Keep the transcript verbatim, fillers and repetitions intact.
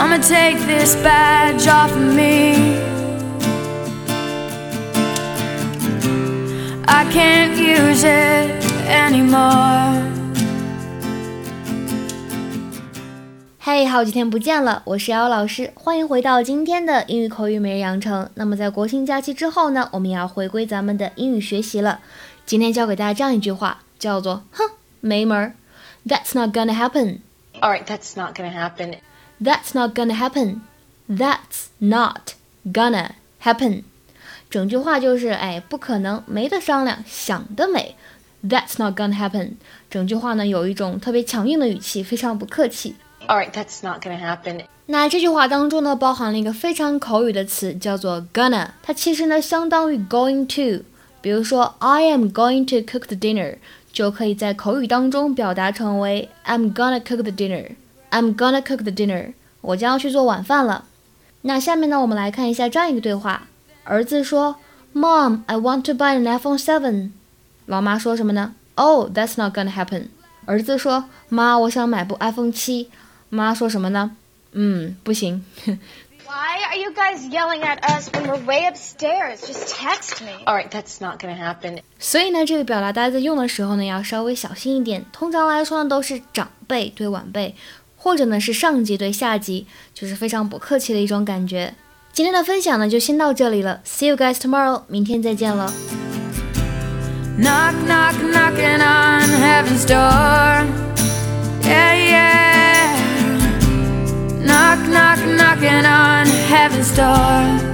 I'ma take this badge off of me. I can't use it anymore. 嘿、hey, 好几天不见了，我是瑶瑶老师，欢迎回到今天的英语口语每日养成。那么在国庆假期之后呢，我们也要回归咱们的英语学习了。今天教给大家这样一句话，叫做哼，没门儿 That's not gonna happen. Alright, that's not gonna happen. That's not gonna happen. That's not gonna happen. 整句话就是哎，不可能，没得商量，想得美。That's not gonna happen. 整句话呢有一种特别强硬的语气，非常不客气。 Alright, that's not gonna happen. 那这句话当中呢，包含了一个非常口语的词，叫做 gonna。它其实呢，相当于 going to。比如说 ，I am going to cook the dinner， 就可以在口语当中表达成为 I'm gonna cook the dinner。I'm gonna cook the dinner。我将要去做晚饭了。那下面呢，我们来看一下这样一个对话。儿子说 ，Mom, I want to buy an iPhone seven。老妈说什么呢 ？Oh, that's not gonna happen。儿子说，妈，我想买部 iPhone 七。妈说什么呢？嗯，不行。 Why are you guys yelling at us when we're way upstairs? Just text me. Alright, that's not gonna happen. 所以呢，这个表达大家在用的时候呢，要稍微小心一点。通常来说呢，都是长辈对晚辈，或者呢是上级对下级，就是非常不客气的一种感觉。今天的分享呢，就先到这里了。See you guys tomorrow. 明天再见了。 Knock, knock, knocking on heaven's door. Yeah, yeah. Knock, knock, knocking on heaven's door.